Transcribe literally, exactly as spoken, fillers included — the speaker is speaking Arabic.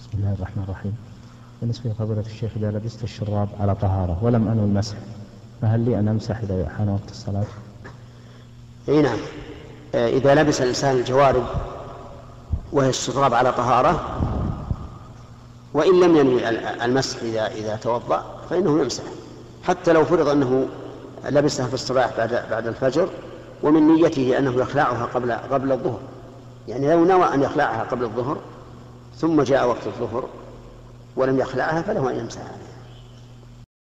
بسم الله الرحمن الرحيم. بالنسبة لفضيلة الشيخ، إذا لبست الشراب على طهارة ولم أنوي المسح، فهل لي أن أمسح إذا حان وقت الصلاة؟ أي نعم، إذا لبس الإنسان الجوارب وهي الشراب على طهارة وإن لم ينوي المسح إذا إذا توضأ فإنه يمسح، حتى لو فرض أنه لبسها في الصباح بعد بعد الفجر ومن نيته أنه يخلعها قبل قبل الظهر، يعني لو نوى أن يخلعها قبل الظهر ثم جاء وقت الظهر ولم يخلعها فله أن يمسح عليها.